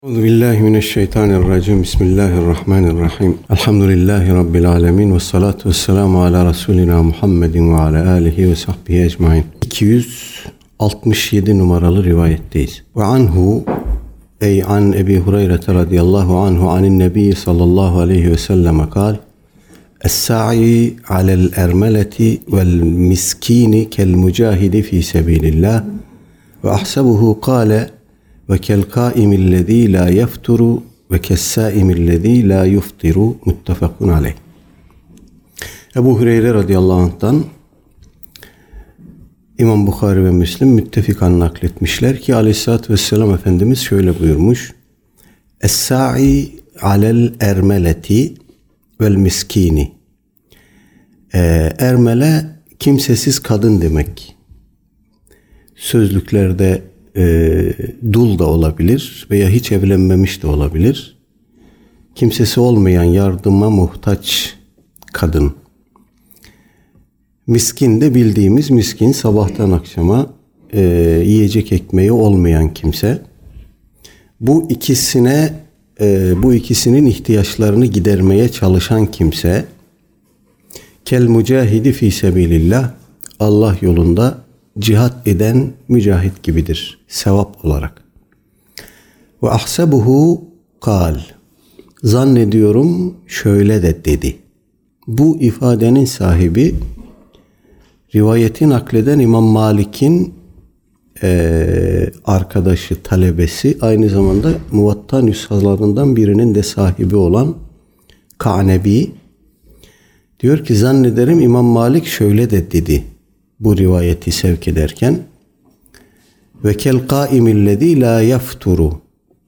Euzubillahimineşşeytanirracim. Bismillahirrahmanirrahim. Elhamdülillahi Rabbil alemin. Ve salatu ve selamu ala Resulina Muhammedin ve ala alihi ve sahbihi ecmain. 267 numaralı rivayetteyiz. Ve anhu ey an Ebi Hureyre radıyallahu anhu anin nebi sallallahu aleyhi ve sellem kal Es-sa'i alel ermeleti vel miskini kel mücahidi fi sebilillah ve ahsebuhu kâle ve kel kâimillezî lâ yefturu ve kessâimillezî lâ yuftiru muttefakun aleyh. Ebu Hureyre radıyallahu anh'tan İmam Bukhari ve Müslim müttefikan nakletmişler ki aleyhissalatü vesselam Efendimiz şöyle buyurmuş: Es-sa'i alel ermeleti vel miskini. Ermele kimsesiz kadın demek. Sözlüklerde dul da olabilir veya hiç evlenmemiş de olabilir. Kimsesi olmayan, yardıma muhtaç kadın. Miskin de bildiğimiz miskin, sabahtan akşama yiyecek ekmeği olmayan kimse. Bu ikisinin ihtiyaçlarını gidermeye çalışan kimse, kel mücahidi fi sebilillah, Allah yolunda cihat eden mücahit gibidir sevap olarak. Ve ahsebuhu kal, zannediyorum şöyle de dedi. Bu ifadenin sahibi rivayeti nakleden İmam Malik'in arkadaşı, talebesi, aynı zamanda Muvatta nüshalarından birinin de sahibi olan Ka'nebi. Diyor ki zannederim İmam Malik şöyle de dedi bu rivayeti sevk ederken: ve kel kâimillezî lâ yefturu.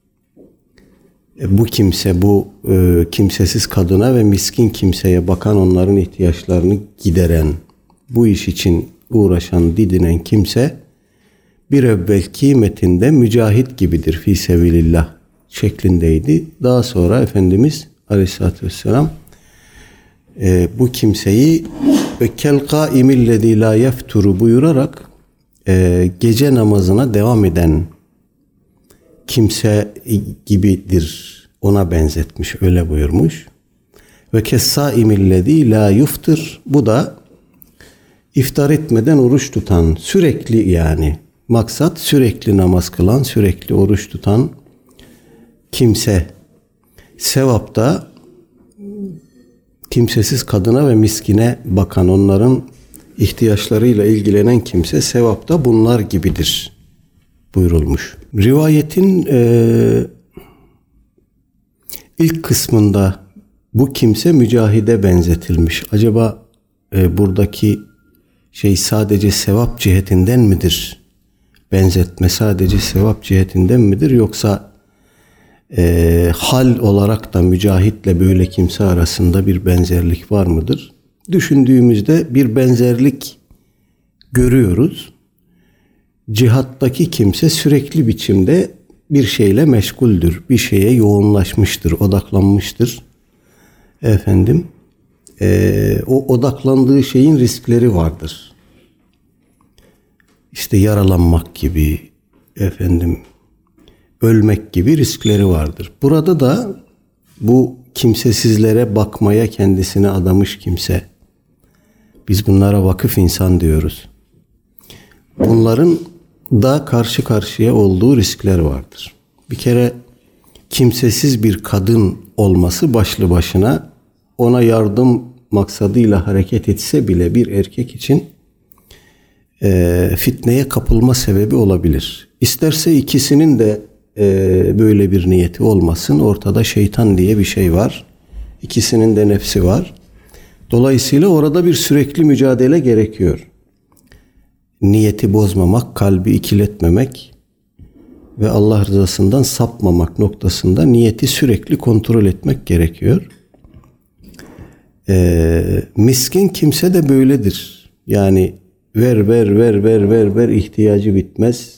Bu kimse, kimsesiz kadına ve miskin kimseye bakan, onların ihtiyaçlarını gideren, bu iş için uğraşan, didinen kimse bir evvelki metinde mücahit gibidir fi sebilillah şeklindeydi. Daha sonra Efendimiz Aleyhisselatü Vesselam bu kimseyi ve kel kâimillezî lâ yefturu buyurarak gece namazına devam eden kimse gibidir, ona benzetmiş, öyle buyurmuş. Ve kessâimillezî lâ yuftir, bu da iftar etmeden oruç tutan, sürekli, yani maksat sürekli namaz kılan, sürekli oruç tutan kimse. Sevapta kimsesiz kadına ve miskine bakan, onların ihtiyaçlarıyla ilgilenen kimse sevapta bunlar gibidir buyurulmuş. Rivayetin ilk kısmında bu kimse mücahide benzetilmiş. Acaba buradaki sadece sevap cihetinden midir? Benzetme sadece sevap cihetinden midir? Yoksa hal olarak da mücahitle böyle kimse arasında bir benzerlik var mıdır? Düşündüğümüzde bir benzerlik görüyoruz. Cihattaki kimse sürekli biçimde bir şeyle meşguldür. Bir şeye yoğunlaşmıştır, odaklanmıştır. O odaklandığı şeyin riskleri vardır. İşte yaralanmak gibi, ölmek gibi riskleri vardır. Burada da bu kimsesizlere bakmaya kendisini adamış kimse, biz bunlara vakıf insan diyoruz. Bunların da karşı karşıya olduğu riskler vardır. Bir kere kimsesiz bir kadın olması başlı başına, ona yardım maksadıyla hareket etse bile bir erkek için fitneye kapılma sebebi olabilir. İsterse ikisinin de böyle bir niyeti olmasın. Ortada şeytan diye bir şey var. İkisinin de nefsi var. Dolayısıyla orada bir sürekli mücadele gerekiyor. Niyeti bozmamak, kalbi ikiletmemek ve Allah rızasından sapmamak noktasında niyeti sürekli kontrol etmek gerekiyor. Miskin kimse de böyledir. Yani ver ihtiyacı bitmez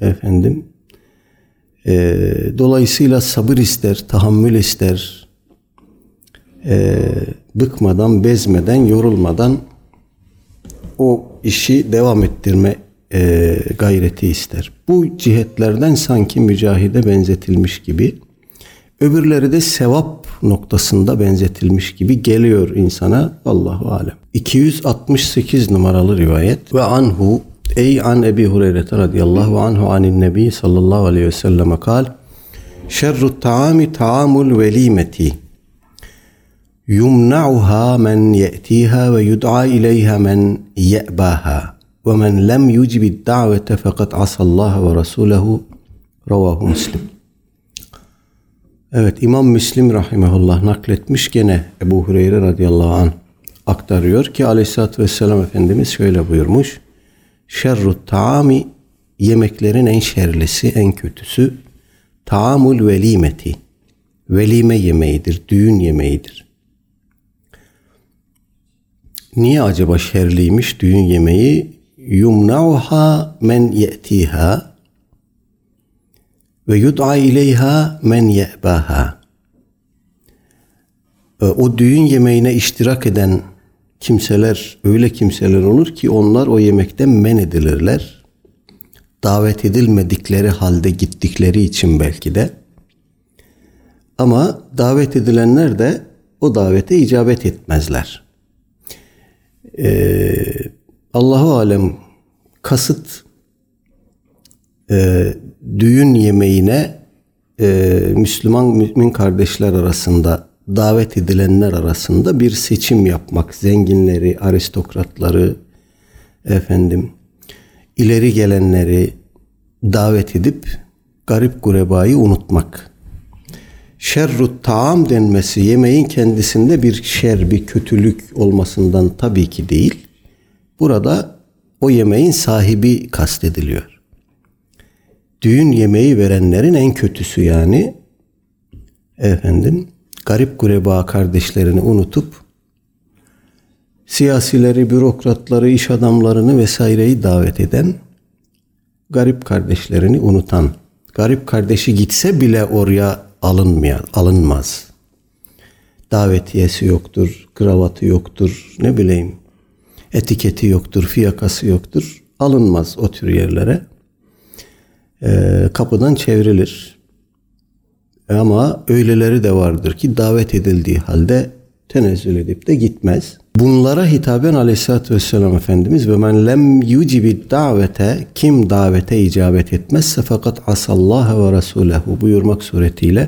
dolayısıyla sabır ister, tahammül ister. Bıkmadan, bezmeden, yorulmadan o işi devam ettirme gayreti ister. Bu cihetlerden sanki mücahide benzetilmiş gibi. Öbürleri de sevap noktasında benzetilmiş gibi geliyor insana. Allahu alem. 268 numaralı rivayet. Ve anhu ey an Ebi Hureyre radıyallahu anhu anin nebi sallallahu aleyhi ve sellem kal şerrut taami taamul velimeti yumna'uha men ye'tiha ve yud'a ileyha men ye'baha ve men lem yucibid da'vete fakat asallaha ve rasulehu ravahu Müslim. Evet, İmam Müslim rahimehullah nakletmiş, gene Ebu Hureyre radıyallahu anh aktarıyor ki aleyhissalatü vesselam Efendimiz şöyle buyurmuş. Şerrut taami, yemeklerin en şerlisi, en kötüsü taamul velimeti, velime yemeğidir, düğün yemeğidir. Niye acaba şerliymiş düğün yemeği? Yumna'uha men ye'tiha ve yud'a ileyha men ye'baha. O düğün yemeğine iştirak eden kimseler, öyle kimseler olur ki onlar o yemekten men edilirler. Davet edilmedikleri halde gittikleri için belki de. Ama davet edilenler de o davete icabet etmezler. Allahu alem, kasıt düğün yemeğine Müslüman mümin kardeşler arasında, davet edilenler arasında bir seçim yapmak, zenginleri, aristokratları, ileri gelenleri davet edip garip gurebayı unutmak. Şerrut taam denmesi yemeğin kendisinde bir şer, bir kötülük olmasından tabii ki değil. Burada o yemeğin sahibi kastediliyor. Düğün yemeği verenlerin en kötüsü, yani garip gureba kardeşlerini unutup siyasileri, bürokratları, iş adamlarını vesaireyi davet eden, garip kardeşlerini unutan, garip kardeşi gitse bile oraya alınmaz. Davetiyesi yoktur, kravatı yoktur, etiketi yoktur, fiyakası yoktur. Alınmaz o tür yerlere. Kapıdan çevrilir. Ama öyleleri de vardır ki davet edildiği halde tenezzül edip de gitmez. Bunlara hitaben aleyhissalatü vesselam Efendimiz ve men lem yucibid davete, kim davete icabet etmezse fakat asallaha ve rasulehu buyurmak suretiyle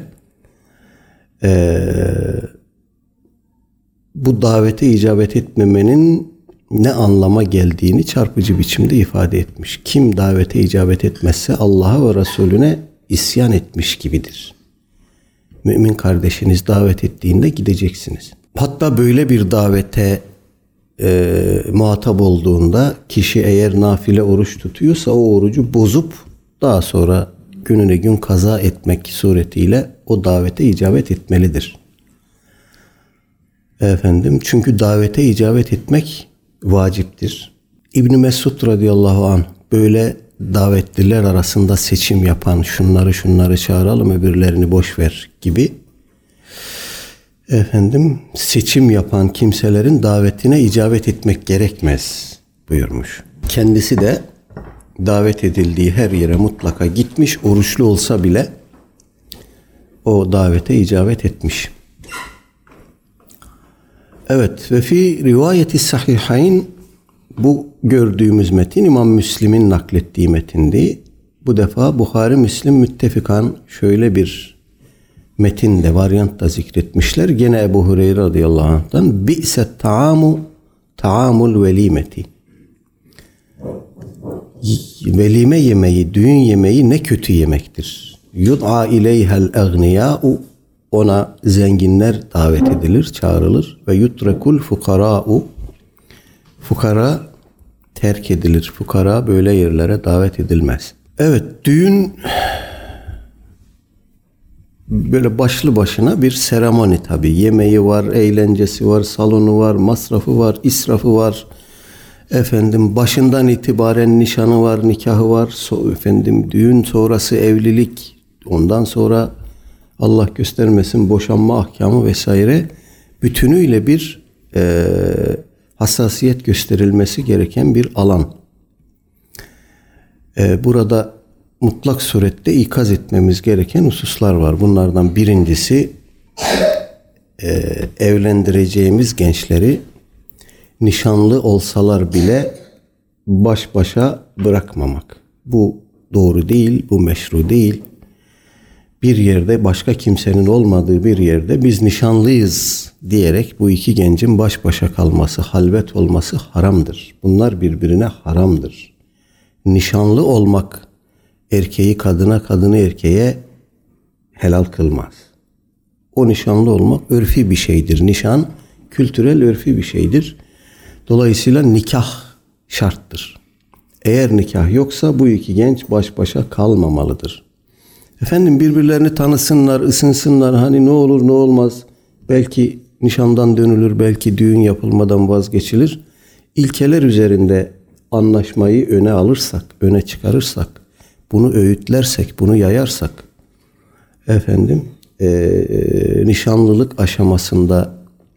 bu davete icabet etmemenin ne anlama geldiğini çarpıcı biçimde ifade etmiş. Kim davete icabet etmezse Allah'a ve Resulüne isyan etmiş gibidir. Mümin kardeşiniz davet ettiğinde gideceksiniz. Hatta böyle bir davete muhatap olduğunda kişi eğer nafile oruç tutuyorsa o orucu bozup daha sonra gününe gün kaza etmek suretiyle o davete icabet etmelidir. Çünkü davete icabet etmek vaciptir. İbn Mesud radıyallahu anh böyle davetliler arasında seçim yapan, şunları çağıralım öbürlerini boş ver gibi seçim yapan kimselerin davetine icabet etmek gerekmez buyurmuş. Kendisi de davet edildiği her yere mutlaka gitmiş, oruçlu olsa bile o davete icabet etmiş. Evet, ve fi rivayeti sahihayn, bu gördüğümüz metin İmam Müslim'in naklettiği metindi. Bu defa Buhari Müslim müttefikan şöyle bir metinde, varyant da zikretmişler. Gene Ebu Hureyre radıyallahu anh'tan bi'set taamu taamul velimeti. Velime yemeği, düğün yemeği ne kötü yemektir. Yud'a ileyhel egniyâ'u, ona zenginler davet edilir, çağrılır. Ve yutrekul fukarâ'u, fukara terk edilir. Fukara böyle yerlere davet edilmez. Evet, düğün böyle başlı başına bir seremoni tabii. Yemeği var, eğlencesi var, salonu var, masrafı var, israfı var. Başından itibaren nişanı var, nikahı var. Düğün sonrası evlilik, ondan sonra Allah göstermesin boşanma ahkamı vesaire, bütünüyle bir hassasiyet gösterilmesi gereken bir alan. Burada mutlak surette ikaz etmemiz gereken hususlar var. Bunlardan birincisi evlendireceğimiz gençleri nişanlı olsalar bile baş başa bırakmamak. Bu doğru değil, bu meşru değil. Bir yerde, başka kimsenin olmadığı bir yerde biz nişanlıyız diyerek bu iki gencin baş başa kalması, halvet olması haramdır. Bunlar birbirine haramdır. Nişanlı olmak erkeği kadına, kadını erkeğe helal kılmaz. O nişanlı olmak örfi bir şeydir. Nişan kültürel, örfi bir şeydir. Dolayısıyla nikah şarttır. Eğer nikah yoksa bu iki genç baş başa kalmamalıdır. Efendim birbirlerini tanısınlar, ısınsınlar. Hani ne olur ne olmaz. Belki nişandan dönülür, belki düğün yapılmadan vazgeçilir. İlkeler üzerinde anlaşmayı öne alırsak, öne çıkarırsak, bunu öğütlersek, bunu yayarsak, nişanlılık aşamasında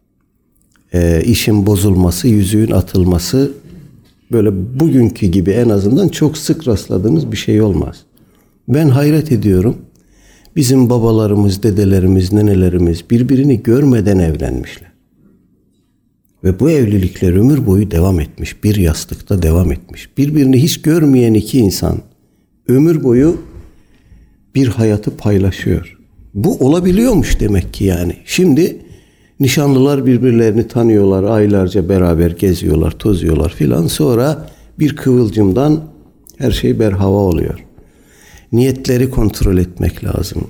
işin bozulması, yüzüğün atılması böyle bugünkü gibi en azından çok sık rastladığımız bir şey olmaz. Ben hayret ediyorum. Bizim babalarımız, dedelerimiz, nenelerimiz birbirini görmeden evlenmişler. Ve bu evlilikler ömür boyu devam etmiş. Bir yastıkta devam etmiş. Birbirini hiç görmeyen iki insan ömür boyu bir hayatı paylaşıyor. Bu olabiliyormuş demek ki yani. Şimdi nişanlılar birbirlerini tanıyorlar. Aylarca beraber geziyorlar, tozuyorlar filan. Sonra bir kıvılcımdan her şey berhava oluyor. Niyetleri kontrol etmek lazım.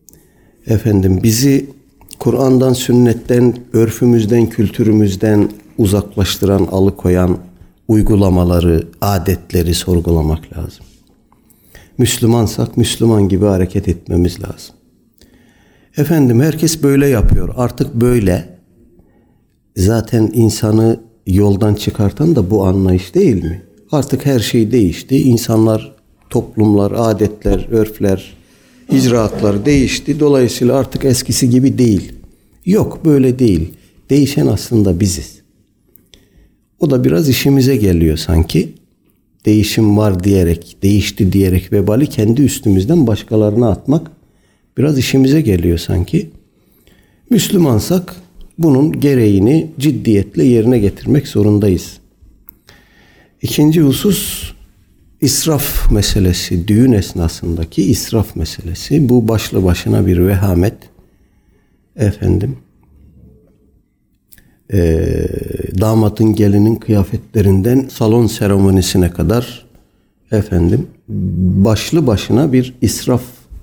Bizi Kur'an'dan, sünnetten, örfümüzden, kültürümüzden uzaklaştıran, alıkoyan uygulamaları, adetleri sorgulamak lazım. Müslümansak Müslüman gibi hareket etmemiz lazım. Herkes böyle yapıyor. Artık böyle. Zaten insanı yoldan çıkartan da bu anlayış değil mi? Artık her şey değişti. İnsanlar, toplumlar, adetler, örfler, icraatlar değişti. Dolayısıyla artık eskisi gibi değil. Yok, böyle değil. Değişen aslında biziz. O da biraz işimize geliyor sanki. Değişim var diyerek, değişti diyerek vebali kendi üstümüzden başkalarına atmak biraz işimize geliyor sanki. Müslümansak bunun gereğini ciddiyetle yerine getirmek zorundayız. İkinci husus israf meselesi, düğün esnasındaki israf meselesi. Bu başlı başına bir vehamet. Damadın, gelinin kıyafetlerinden salon seremonisine kadar başlı başına bir israf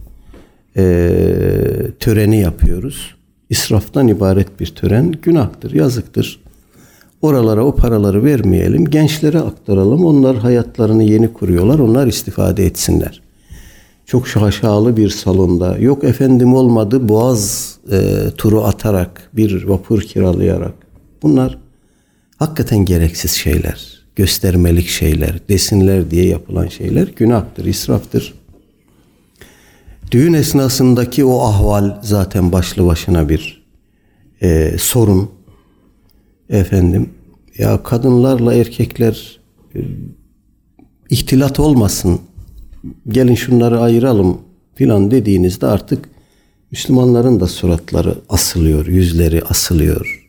töreni yapıyoruz. İsraftan ibaret bir tören günahtır, yazıktır. Oralara o paraları vermeyelim, gençlere aktaralım. Onlar hayatlarını yeni kuruyorlar, onlar istifade etsinler. Çok şaşalı bir salonda, yok olmadı Boğaz turu atarak, bir vapur kiralayarak. Bunlar hakikaten gereksiz şeyler, göstermelik şeyler, desinler diye yapılan şeyler günahtır, israftır. Düğün esnasındaki o ahval zaten başlı başına bir sorun. Ya kadınlarla erkekler ihtilat olmasın, gelin şunları ayıralım filan dediğinizde artık Müslümanların da suratları asılıyor, yüzleri asılıyor.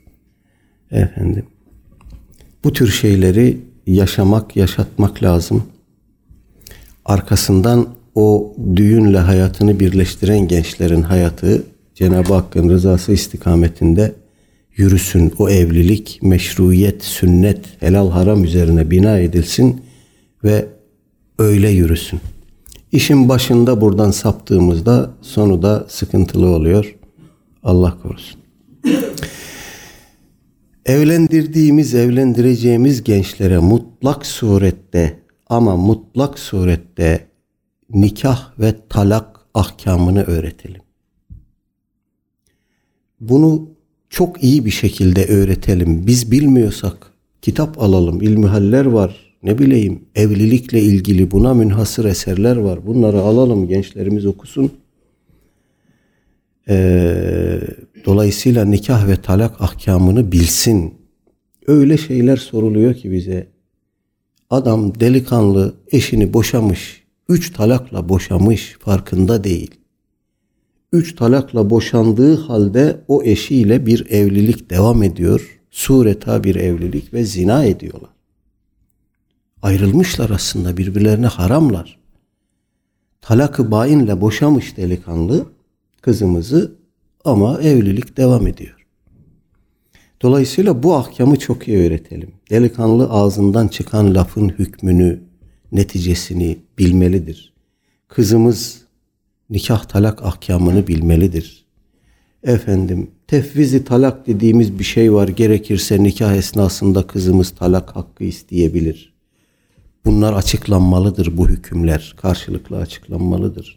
Bu tür şeyleri yaşamak, yaşatmak lazım. Arkasından o düğünle hayatını birleştiren gençlerin hayatı Cenab-ı Hakk'ın rızası istikametinde yürüsün. O evlilik meşruiyet, sünnet, helal haram üzerine bina edilsin ve öyle yürüsün. İşin başında buradan saptığımızda sonu da sıkıntılı oluyor. Allah korusun. Evlendireceğimiz gençlere mutlak surette nikah ve talak ahkamını öğretelim. Bunu çok iyi bir şekilde öğretelim. Biz bilmiyorsak kitap alalım. İlmihaller var. Evlilikle ilgili buna münhasır eserler var. Bunları alalım, gençlerimiz okusun. Dolayısıyla nikah ve talak ahkamını bilsin. Öyle şeyler soruluyor ki bize. Adam delikanlı eşini boşamış. 3 talakla boşamış, farkında değil. 3 talakla boşandığı halde o eşiyle bir evlilik devam ediyor. Sureta bir evlilik ve zina ediyorlar. Ayrılmışlar aslında, birbirlerine haramlar. Talak-ı bainle boşamış delikanlı kızımızı ama evlilik devam ediyor. Dolayısıyla bu ahkamı çok iyi öğretelim. Delikanlı ağzından çıkan lafın hükmünü, neticesini bilmelidir. Kızımız nikah talak ahkamını bilmelidir. Tefviz-i talak dediğimiz bir şey var. Gerekirse nikah esnasında kızımız talak hakkı isteyebilir. Bunlar açıklanmalıdır, bu hükümler. Karşılıklı açıklanmalıdır.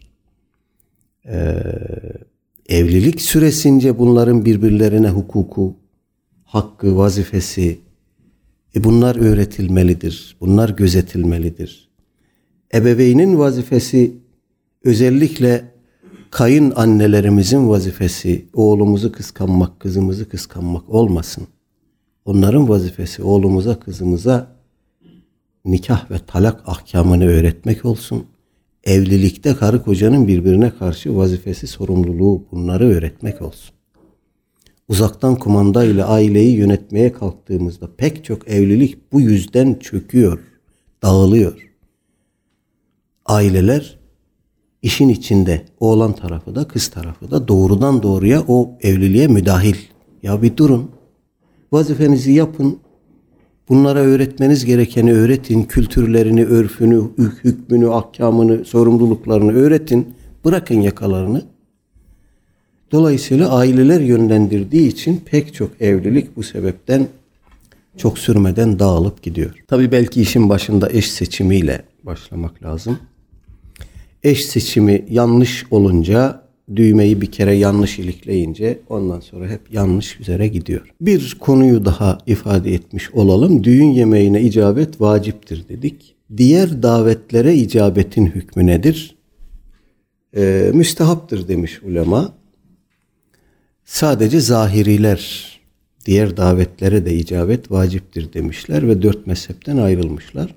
Evlilik süresince bunların birbirlerine hukuku, hakkı, vazifesi, bunlar öğretilmelidir. Bunlar gözetilmelidir. Ebeveynin vazifesi, özellikle kayınannelerimizin vazifesi oğlumuzu kıskanmak, kızımızı kıskanmak olmasın. Onların vazifesi oğlumuza, kızımıza nikah ve talak ahkamını öğretmek olsun. Evlilikte karı kocanın birbirine karşı vazifesi, sorumluluğu, bunları öğretmek olsun. Uzaktan kumanda ile aileyi yönetmeye kalktığımızda pek çok evlilik bu yüzden çöküyor, dağılıyor. Aileler işin içinde, oğlan tarafı da kız tarafı da doğrudan doğruya o evliliğe müdahil. Ya bir durun, vazifenizi yapın, bunlara öğretmeniz gerekeni öğretin, kültürlerini, örfünü, hükmünü, ahkamını, sorumluluklarını öğretin, bırakın yakalarını. Dolayısıyla aileler yönlendirdiği için pek çok evlilik bu sebepten çok sürmeden dağılıp gidiyor. Tabii belki işin başında eş seçimiyle başlamak lazım. Eş seçimi yanlış olunca, düğmeyi bir kere yanlış ilikleyince ondan sonra hep yanlış üzere gidiyor. Bir konuyu daha ifade etmiş olalım. Düğün yemeğine icabet vaciptir dedik. Diğer davetlere icabetin hükmü nedir? Müstehaptır demiş ulema. Sadece zahiriler diğer davetlere de icabet vaciptir demişler ve 4 mezhepten ayrılmışlar.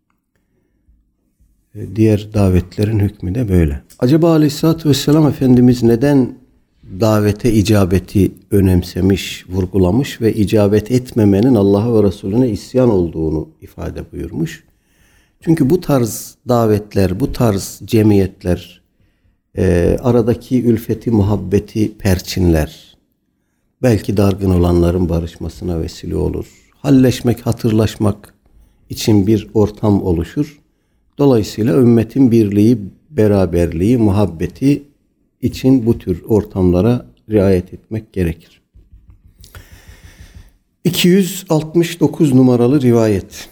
Diğer davetlerin hükmü de böyle. Acaba Aleyhisselatü Vesselam Efendimiz neden davete icabeti önemsemiş, vurgulamış ve icabet etmemenin Allah'a ve Resulüne isyan olduğunu ifade buyurmuş? Çünkü bu tarz davetler, bu tarz cemiyetler aradaki ülfeti, muhabbeti perçinler. Belki dargın olanların barışmasına vesile olur. Halleşmek, hatırlaşmak için bir ortam oluşur. Dolayısıyla ümmetin birliği, beraberliği, muhabbeti için bu tür ortamlara riayet etmek gerekir. 269 numaralı rivayet.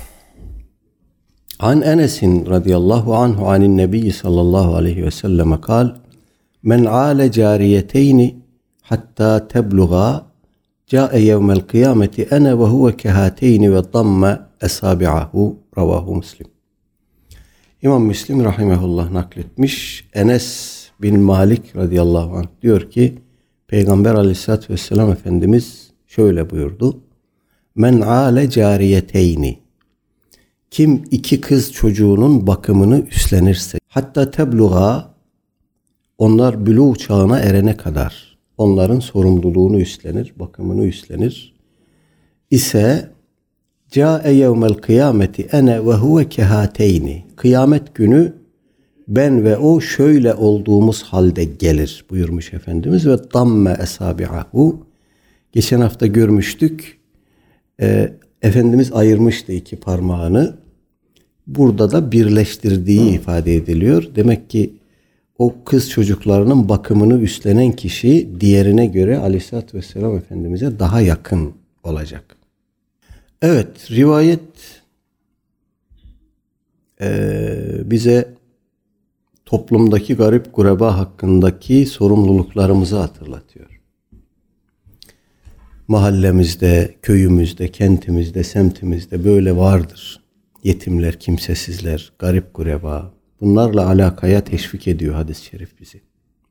An Enes'in radıyallahu anhu anin nebiyyi sallallahu aleyhi ve selleme kal, men ale cariyeteyni hatta tebluğa ca'e yevmel kıyameti ene ve huve kehateyni ve damme esabi'ahu ravahu Müslim. İmam Müslim rahimehullah nakletmiş. Enes bin Malik radıyallahu anh diyor ki Peygamber aleyhissalatü vesselam Efendimiz şöyle buyurdu. Men ale cariyeteyni, kim 2 kız çocuğunun bakımını üstlenirse, hatta tebluğa, onlar bülûğ çağına erene kadar onların sorumluluğunu üstlenir, bakımını üstlenir ise câe yevmel kıyameti ene ve huve kehateyni, kıyamet günü ben ve o şöyle olduğumuz halde gelir buyurmuş Efendimiz ve damme esabi'ahu. Geçen hafta görmüştük. Efendimiz ayırmıştı 2 parmağını. Burada da birleştirdiği ifade ediliyor. Demek ki o kız çocuklarının bakımını üstlenen kişi diğerine göre Aleyhisselatü Vesselam Efendimiz'e daha yakın olacak. Evet, rivayet bize toplumdaki garip gureba hakkındaki sorumluluklarımızı hatırlatıyor. Mahallemizde, köyümüzde, kentimizde, semtimizde böyle vardır. Yetimler, kimsesizler, garip gureba. Bunlarla alakaya teşvik ediyor hadis-i şerif bizi.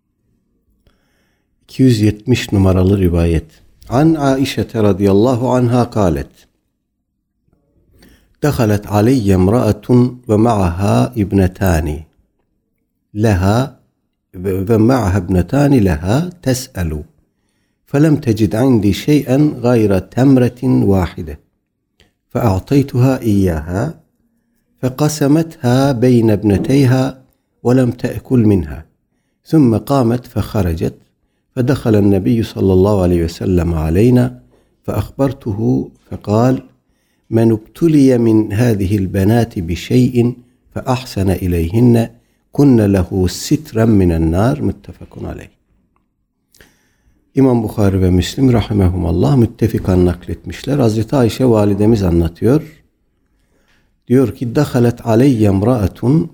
270 numaralı rivayet. An Aişe radıyallahu anha kâlet. دخلت علي امرأة ومعها ابنتان لها تسأل فلم تجد عندي شيئا غير تمرة واحدة فأعطيتها إياها فقسمتها بين ابنتيها ولم تأكل منها ثم قامت فخرجت فدخل النبي صلى الله عليه وسلم علينا فأخبرته فقال من ابتلي من هذه البنات بشيء فأحسن إليهن كن له سترا من النار muttefakun aleyh. İmam Bukhari ve Müslim rahimehumallah müttefikan nakletmişler. Hazreti Ayşe validemiz anlatıyor. Diyor ki dakhalet aleyye imraatun,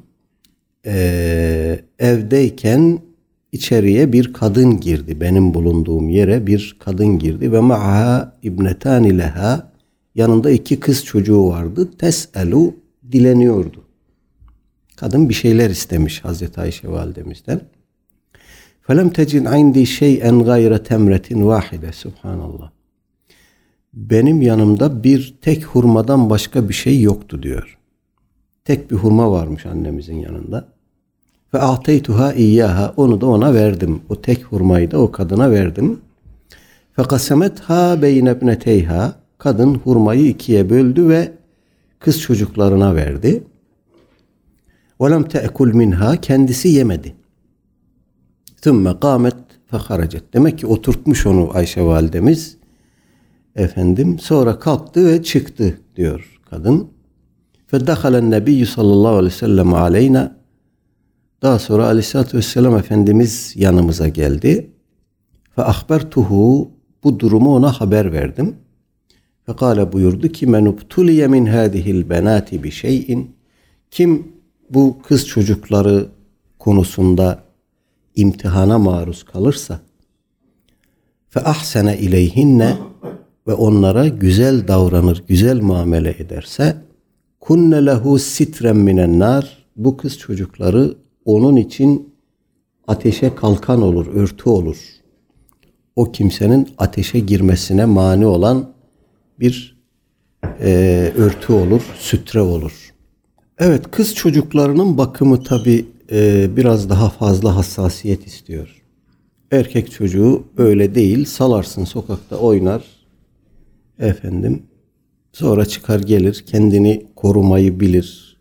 evdeyken içeriye bir kadın girdi. Benim bulunduğum yere bir kadın girdi ve ma'ha ibnetani leha, yanında 2 kız çocuğu vardı. Tes'elu, dileniyordu. Kadın bir şeyler istemiş Hazreti Ayşe validemizden. فَلَمْ تَجِنْ عِنْدِي شَيْئًا غَيْرَ تَمْرَةٍ وَاحِدَةٍ Subhanallah. Benim yanımda bir tek hurmadan başka bir şey yoktu diyor. Tek bir hurma varmış annemizin yanında. فَاَعْتَيْتُهَا اِيَّاهَا Onu da ona verdim. O tek hurmayı da o kadına verdim. فَقَسَمَتْهَا بَيْنَ ابْنَتَيْهَا Kadın hurmayı 2'ye böldü ve kız çocuklarına verdi. وَلَمْ تَأْكُلْ مِنْهَا Kendisi yemedi. ثُمَّ قَامَتْ فَخَرَجَتْ Demek ki oturtmuş onu Ayşe validemiz. Sonra kalktı ve çıktı diyor kadın. فَدَخَلَ النَّبِيُّ sallallahu aleyhi ve sellem aleyna Daha sonra aleyhissalatü vesselam Efendimiz yanımıza geldi. فَأَخْبَرْتُهُ Bu durumu ona haber verdim. فَقَالَ buyurdu ki مَنْ اُبْتُلِيَ مِنْ هَذِهِ الْبَنَاتِ بِشَيْءٍ Kim bu kız çocukları konusunda imtihana maruz kalırsa فَأَحْسَنَ اِلَيْهِنَّ Ve onlara güzel davranır, güzel muamele ederse كُنَّ لَهُ سِتْرًا مِنَ النَّارِ Bu kız çocukları onun için ateşe kalkan olur, örtü olur. O kimsenin ateşe girmesine mani olan bir örtü olur, sütre olur. Evet, kız çocuklarının bakımı tabii biraz daha fazla hassasiyet istiyor. Erkek çocuğu öyle değil, salarsın sokakta oynar. Sonra çıkar gelir, kendini korumayı bilir.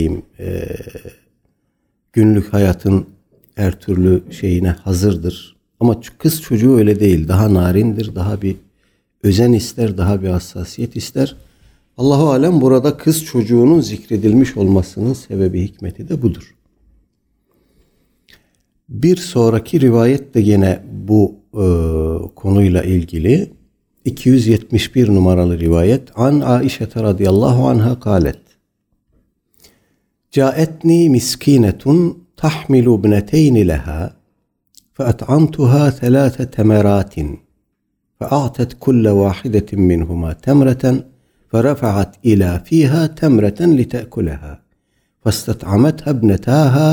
Günlük hayatın her türlü şeyine hazırdır. Ama kız çocuğu öyle değil. Daha narindir, daha bir özen ister, daha bir hassasiyet ister. Allahu alem burada kız çocuğunun zikredilmiş olmasının sebebi, hikmeti de budur. Bir sonraki rivayet de yine bu konuyla ilgili. 271 numaralı rivayet. An Aişe radıyallahu anha kâlet. Câetni miskinetun tahmilu ibneteyni leha feat'amtuha 3 temeratin fe'a'tet kulle vahidetin minhuma temreten فرفعت إلى فيها تمرة لتأكلها فاستطعمتها ابنتاها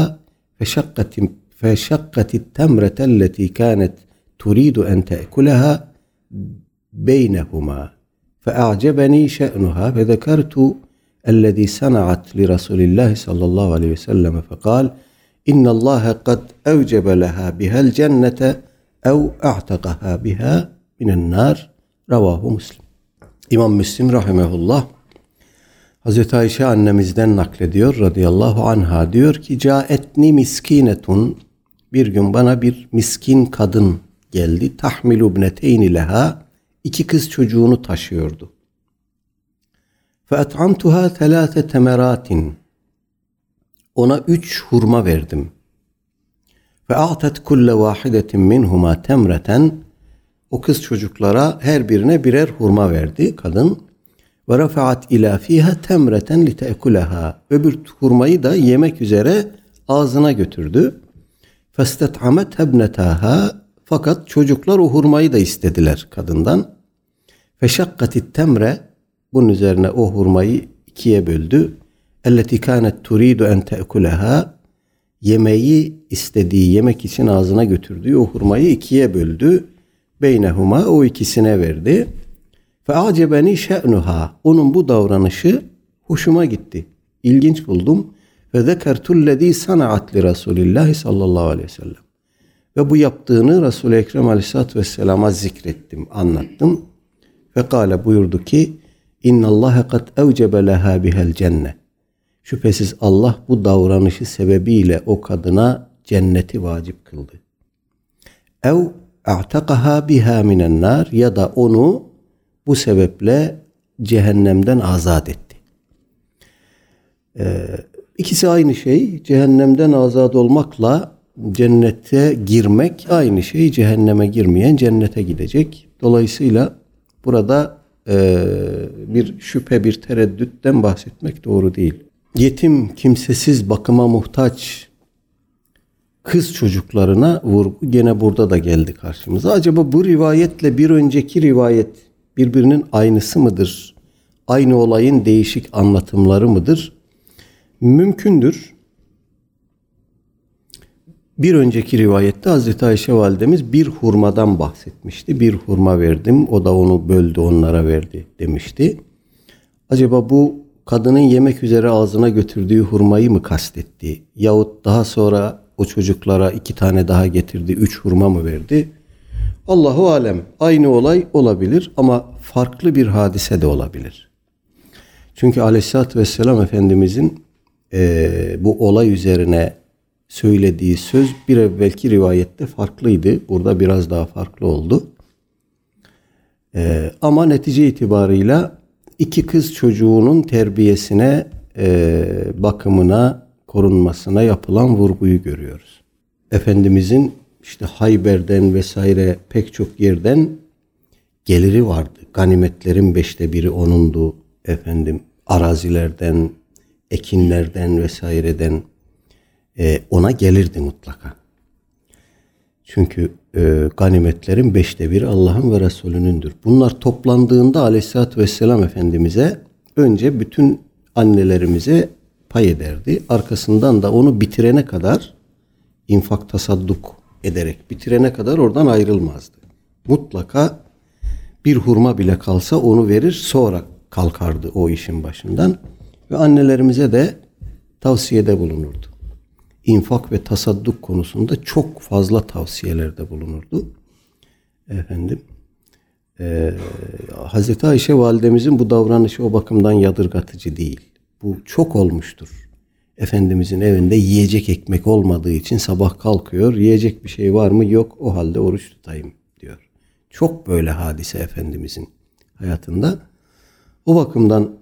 فشقت التمرة التي كانت تريد أن تأكلها بينهما فأعجبني شأنها فذكرت الذي صنعت لرسول الله صلى الله عليه وسلم فقال إن الله قد أوجب لها بها الجنة أو أعتقها بها من النار رواه مسلم. İmam Müslim rahimehullah Hazreti Ayşe annemizden naklediyor radıyallahu anha, diyor ki caetni miskinetun, bir gün bana bir miskin kadın geldi. Tahmilu ibneteyni leha, 2 kız çocuğunu taşıyordu. Feat'amtuha 3 temeratin, ona 3 hurma verdim. Fe'atet kulle vahidetin minhuma temreten, o kız çocuklara her birine birer hurma verdi kadın. Ve rafa'at ila fiha temreten li te'kulaha. Öbür hurmayı da yemek üzere ağzına götürdü. Festet'amet hebnetaha. Fakat çocuklar o hurmayı da istediler kadından. Feşakkatit temre. Bunun üzerine o hurmayı 2'ye böldü. Elleti kânet turidu en te'kulaha. Yemeği istediği, yemek için ağzına götürdüğü o hurmayı 2'ye böldü. Beynehuma, o ikisine verdi. Fe acebeni şe'nuha, onun bu davranışı Hoşuma gitti. İlginç buldum. Ve zekertullezî sana'at li Resulillahi sallallahu aleyhi ve sellem. Ve bu yaptığını Resul-i Ekrem aleyhissalatü vesselama zikrettim, anlattım. Ve kâle buyurdu ki İnnallâhe kad evcebe lehâ bihel cennet. Şüphesiz Allah bu davranışı sebebiyle o kadına cenneti vacip kıldı. Ev a'takaha biha minen nar, ya da onu bu sebeple cehennemden azat etti. İkisi aynı şey. Cehennemden azat olmakla cennete girmek aynı şey. Cehenneme girmeyen cennete gidecek. Dolayısıyla burada bir şüphe, bir tereddütten bahsetmek doğru değil. Yetim, kimsesiz, bakıma muhtaç kız çocuklarına vurgu gene burada da geldi karşımıza. Acaba bu rivayetle bir önceki rivayet birbirinin aynısı mıdır? Aynı olayın değişik anlatımları mıdır? Mümkündür. Bir önceki rivayette Hazreti Ayşe validemiz bir hurmadan bahsetmişti. Bir hurma verdim, o da onu böldü, onlara verdi demişti. Acaba bu kadının yemek üzere ağzına götürdüğü hurmayı mı kastetti? Yahut daha sonra o çocuklara 2 tane daha getirdi, 3 hurma mı verdi? Allahu alem. Aynı olay olabilir ama farklı bir hadise de olabilir. Çünkü Aleyhisselatü Vesselam Efendimizin bu olay üzerine söylediği söz bir evvelki rivayette farklıydı. Burada biraz daha farklı oldu. Ama netice itibarıyla 2 kız çocuğunun terbiyesine, bakımına, korunmasına yapılan vurguyu görüyoruz. Efendimizin işte Hayber'den vesaire pek çok yerden geliri vardı. Ganimetlerin 5'te 1'i onundu. Arazilerden, ekinlerden vesaireden ona gelirdi mutlaka. Çünkü ganimetlerin 5'te 1'i Allah'ın ve Resulünündür. Bunlar toplandığında Aleyhisselatü Vesselam Efendimiz'e önce bütün annelerimize pay ederdi. Arkasından da onu bitirene kadar infak tasadduk ederek bitirene kadar oradan ayrılmazdı. Mutlaka bir hurma bile kalsa onu verir, sonra kalkardı o işin başından ve annelerimize de tavsiyede bulunurdu. İnfak ve tasadduk konusunda çok fazla tavsiyelerde bulunurdu. Hazreti Ayşe validemizin bu davranışı o bakımdan yadırgatıcı değil. Bu çok olmuştur. Efendimizin evinde yiyecek ekmek olmadığı için sabah kalkıyor. Yiyecek bir şey var mı? Yok. O halde oruç tutayım diyor. Çok böyle hadise Efendimizin hayatında. O bakımdan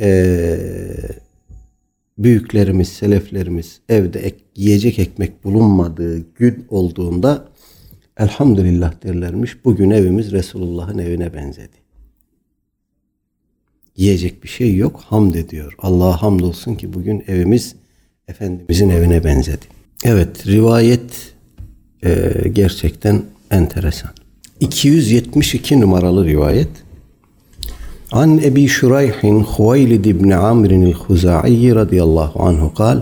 büyüklerimiz, seleflerimiz evde yiyecek ekmek bulunmadığı gün olduğunda elhamdülillah derlermiş. Bugün evimiz Resulullah'ın evine benzedi. Yiyecek bir şey yok. Hamd ediyor. Allah'a hamdolsun ki bugün evimiz Efendimizin evine benzedi. Evet, rivayet gerçekten enteresan. 272 numaralı rivayet. An Ebi Şurayhin Huveylid ibn Amr'in el-Huza'i radıyallahu anhu kal.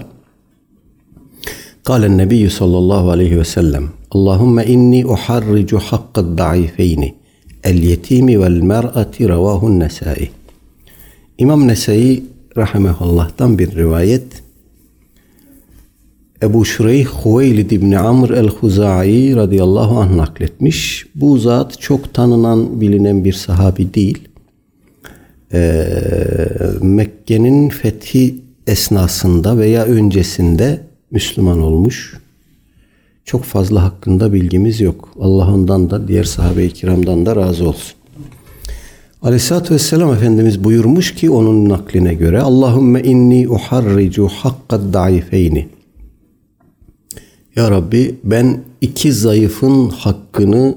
قال النبي صلى الله عليه وسلم اللهم إني أحرج حق الضعيفين اليتيم والمرأة رواه النسائي. İmam Nesai rahimehullah'tan bir rivayet. Ebu Şureyh Huveylid ibn Amr el-Huza'i radıyallahu anh nakletmiş. Bu zat çok tanınan, bilinen bir sahabi değil. Mekke'nin fethi esnasında veya öncesinde Müslüman olmuş. Çok fazla hakkında bilgimiz yok. Allah ondan da diğer sahabe-i kiramdan da razı olsun. Aleyhisselatü Vesselam Efendimiz buyurmuş ki onun nakline göre Allahümme inni uharricu hakkad daifeyni. Ya Rabbi, ben 2 zayıfın hakkını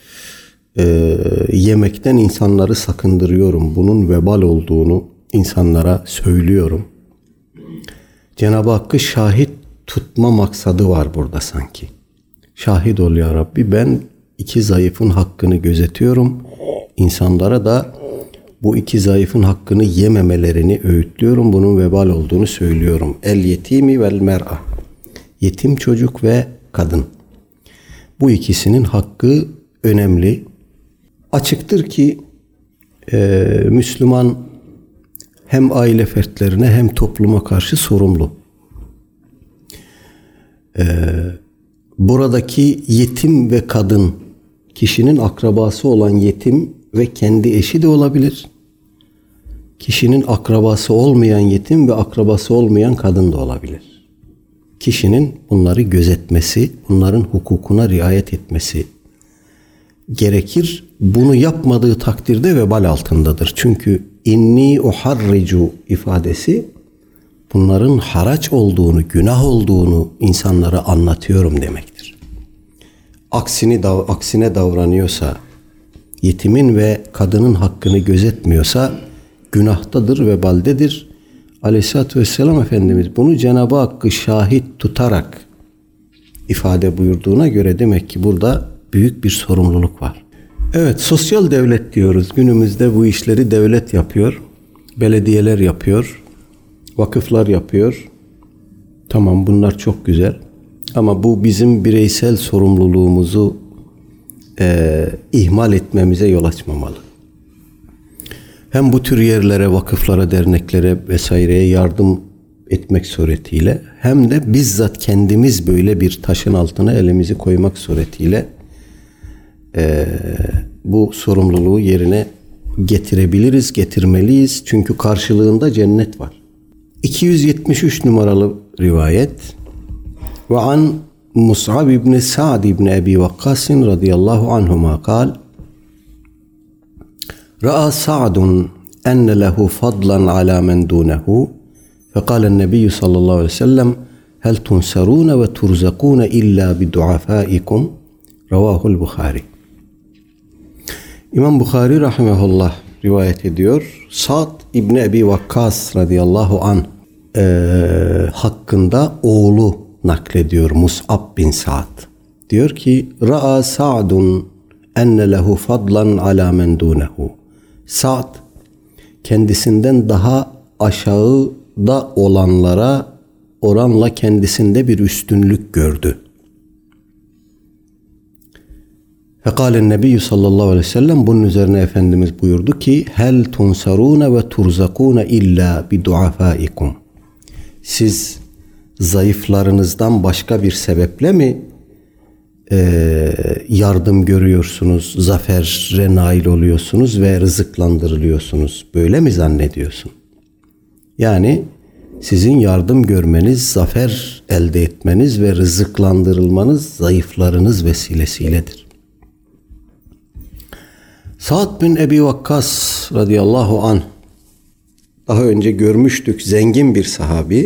yemekten insanları sakındırıyorum. Bunun vebal olduğunu insanlara söylüyorum. Cenab-ı Hakk'ı şahit tutma maksadı var burada sanki. Şahit ol ya Rabbi, ben 2 zayıfın hakkını gözetiyorum. İnsanlara da bu 2 zayıfın hakkını yememelerini öğütlüyorum. Bunun vebal olduğunu söylüyorum. El yetimi vel mer'a. Yetim çocuk ve kadın. Bu ikisinin hakkı önemli. Açıktır ki Müslüman hem aile fertlerine hem topluma karşı sorumlu. Buradaki yetim ve kadın, kişinin akrabası olan yetim ve kendi eşi de olabilir. Kişinin akrabası olmayan yetim ve akrabası olmayan kadın da olabilir. Kişinin bunları gözetmesi, bunların hukukuna riayet etmesi gerekir. Bunu yapmadığı takdirde vebal altındadır. Çünkü inni uharricu ifadesi bunların haraç olduğunu, günah olduğunu insanlara anlatıyorum demektir. Aksine davranıyorsa, yetimin ve kadının hakkını gözetmiyorsa günahtadır, vebaldedir. Aleyhisselatü Vesselam Efendimiz bunu Cenab-ı Hakk'ı şahit tutarak ifade buyurduğuna göre demek ki burada büyük bir sorumluluk var. Evet, sosyal devlet diyoruz. Günümüzde bu işleri devlet yapıyor. Belediyeler yapıyor. Vakıflar yapıyor. Tamam, bunlar çok güzel. Ama bu bizim bireysel sorumluluğumuzu ihmal etmemize yol açmamalı. Hem bu tür yerlere, vakıflara, derneklere vesaireye yardım etmek suretiyle hem de bizzat kendimiz böyle bir taşın altına elimizi koymak suretiyle bu sorumluluğu yerine getirebiliriz, getirmeliyiz. Çünkü karşılığında cennet var. 273 numaralı rivayet. Ve an Mus'ab ibn Sa'd ibn Abi Waqqas radıyallahu anhuma kal: Ra'a Sa'dun enne lehu fadlan ala men dunehu فقال النبي صلى الله عليه وسلم هل تنصرون وترزقون إلا بدعفائكم رواه البخاري. İmam Bukhari rahimehullah rivayet ediyor. Sa'd İbni Ebi Vakkas radıyallahu anh hakkında oğlu naklediyor, Mus'ab bin Sa'd. Diyor ki Ra'a Sa'dun enne lehu fadlan ala men dunehu. Sa'd kendisinden daha aşağıda olanlara oranla kendisinde bir üstünlük gördü. Fekalen Nebiyyü sallallahu aleyhi ve sellem, bunun üzerine Efendimiz buyurdu ki hel tunsarune ve turzakune illa bi duafaikum. Siz zayıflarınızdan başka bir sebeple mi yardım görüyorsunuz, zafere nail oluyorsunuz ve rızıklandırılıyorsunuz? Böyle mi zannediyorsun? Yani sizin yardım görmeniz, zafer elde etmeniz ve rızıklandırılmanız zayıflarınız vesilesiyledir. Sa'd bin Ebi Vakkas radıyallahu anh, daha önce görmüştük, zengin bir sahabi.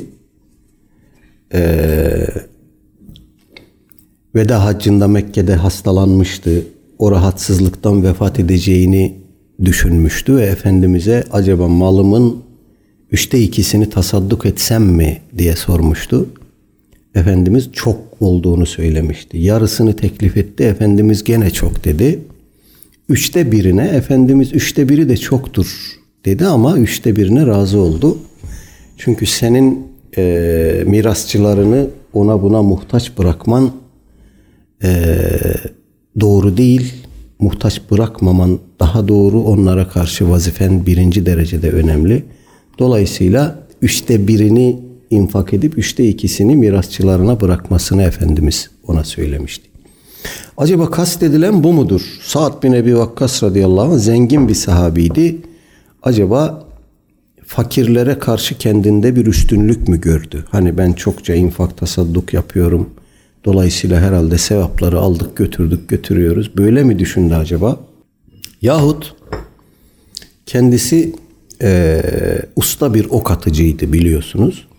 Veda haccında Mekke'de hastalanmıştı. O rahatsızlıktan vefat edeceğini düşünmüştü ve Efendimiz'e acaba malımın 2/3'ünü tasadduk etsem mi diye sormuştu. Efendimiz çok olduğunu söylemişti. Yarısını teklif etti. Efendimiz gene çok dedi. 1/3'üne Efendimiz 1/3 de çoktur dedi ama 1/3'üne razı oldu. Çünkü senin mirasçılarını ona buna muhtaç bırakman doğru değil. Muhtaç bırakmaman daha doğru. Onlara karşı vazifen birinci derecede önemli. Dolayısıyla 1/3'ini infak edip 2/3'sini mirasçılarına bırakmasını Efendimiz ona söylemişti. Acaba kastedilen bu mudur? Sa'd bin Ebi Vakkas radıyallahu anh zengin bir sahabiydi. Acaba fakirlere karşı kendinde bir üstünlük mü gördü? Hani ben çokça infak tasadduk yapıyorum. Dolayısıyla herhalde sevapları aldık götürdük götürüyoruz. Böyle mi düşündü acaba? Yahut kendisi usta bir ok atıcıydı biliyorsunuz.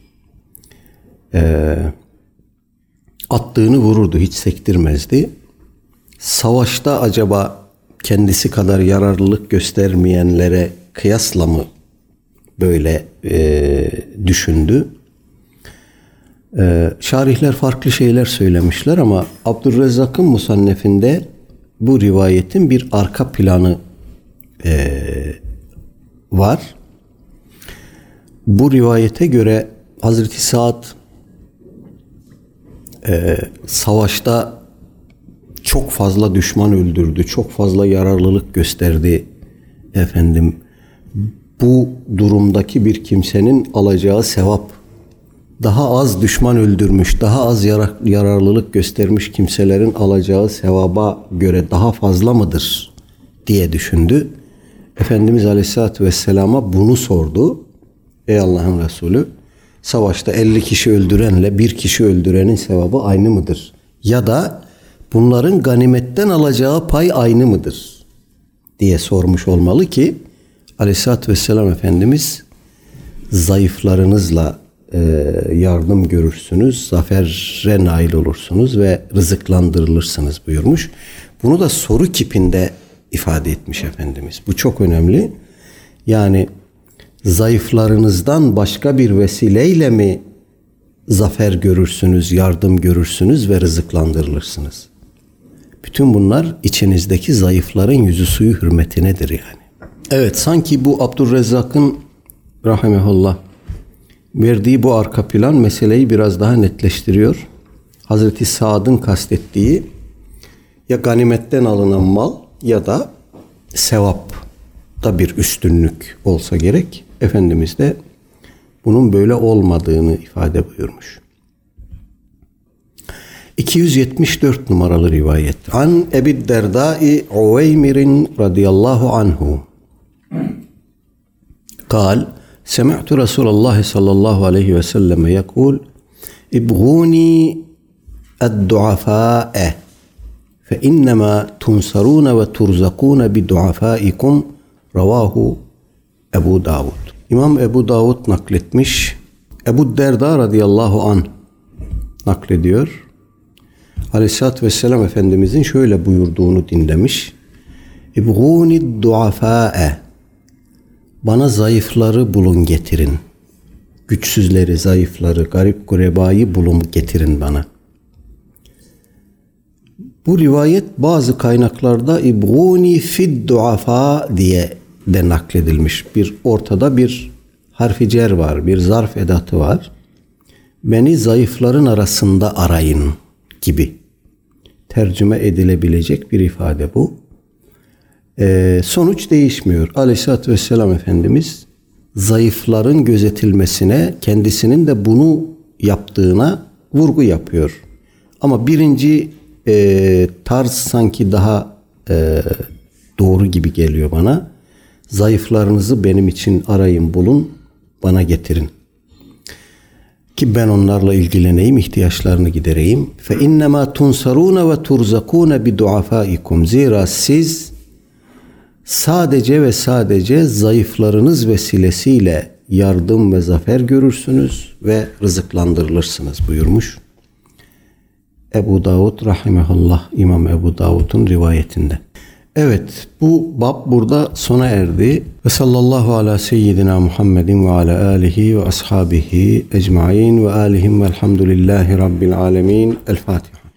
Attığını vururdu, hiç sektirmezdi. Savaşta acaba kendisi kadar yararlılık göstermeyenlere kıyasla mı böyle düşündü? Şarihler farklı şeyler söylemişler ama Abdurrezzak'ın musannefinde bu rivayetin bir arka planı var. Bu rivayete göre Hazreti Sa'd savaşta çok fazla düşman öldürdü, çok fazla yararlılık gösterdi efendim. bu durumdaki bir kimsenin alacağı sevap daha az düşman öldürmüş, daha az yararlılık göstermiş kimselerin alacağı sevaba göre daha fazla mıdır diye düşündü. Efendimiz Aleyhisselatü Vesselam'a bunu sordu. Ey Allah'ın Resulü, savaşta 50 kişi öldürenle 1 kişi öldürenin sevabı aynı mıdır? Ya da bunların ganimetten alacağı pay aynı mıdır diye sormuş olmalı ki Aleyhisselatü Vesselam Efendimiz zayıflarınızla yardım görürsünüz, zafere nail olursunuz ve rızıklandırılırsınız buyurmuş. Bunu da soru kipinde ifade etmiş Efendimiz. Bu çok önemli. Yani zayıflarınızdan başka bir vesileyle mi zafer görürsünüz, yardım görürsünüz ve rızıklandırılırsınız? Bütün bunlar içinizdeki zayıfların yüzü suyu hürmetinedir yani. Evet, sanki bu Abdurrezzak'ın rahimehullah verdiği bu arka plan meseleyi biraz daha netleştiriyor. Hazreti Sa'd'ın kastettiği ya ganimetten alınan mal ya da sevapta bir üstünlük olsa gerek. Efendimiz de bunun böyle olmadığını ifade buyurmuş. 274 numaralı rivayet. An Ebi Derdai Uveymir'in radıyallahu anhu. قال سمعت رسول الله صلى الله عليه وسلم يقول ابغوني الضعفاء فإنما تنصرون وترزقون بدعفائكم رواه Ebu Davud. İmam Ebu Davud nakletmiş. Ebu Derda radıyallahu anh naklediyor. Aleyhisselatü Vesselam Efendimizin şöyle buyurduğunu dinlemiş. İbgûni duafâe. Bana zayıfları bulun getirin. Güçsüzleri, zayıfları, garip gurebayı bulun getirin bana. Bu rivayet bazı kaynaklarda ibgûni fid duafâ diye de nakledilmiş. Bir ortada bir harfi cer var, bir zarf edatı var. Beni zayıfların arasında arayın gibi tercüme edilebilecek bir ifade bu. Sonuç değişmiyor. Aleyhisselatü Vesselam Efendimiz zayıfların gözetilmesine, kendisinin de bunu yaptığına vurgu yapıyor. Ama birinci tarz sanki daha doğru gibi geliyor bana. Zayıflarınızı benim için arayın, bulun, bana getirin. Ki ben onlarla ilgileneyim, ihtiyaçlarını gidereyim. Fe innema tunsaruna ve turzakuna bi duafaikum. Zira siz sadece ve sadece zayıflarınız vesilesiyle yardım ve zafer görürsünüz ve rızıklandırılırsınız buyurmuş. Ebu Davud rahimehullah, İmam Ebu Davud'un rivayetinde. Evet, bu bab burada sona erdi. Ve sallallahu ala seyyidina Muhammedin ve ala alihi ve ashabihi ecmaîn ve alihim velhamdülillahi rabbil alemin. El Fatiha.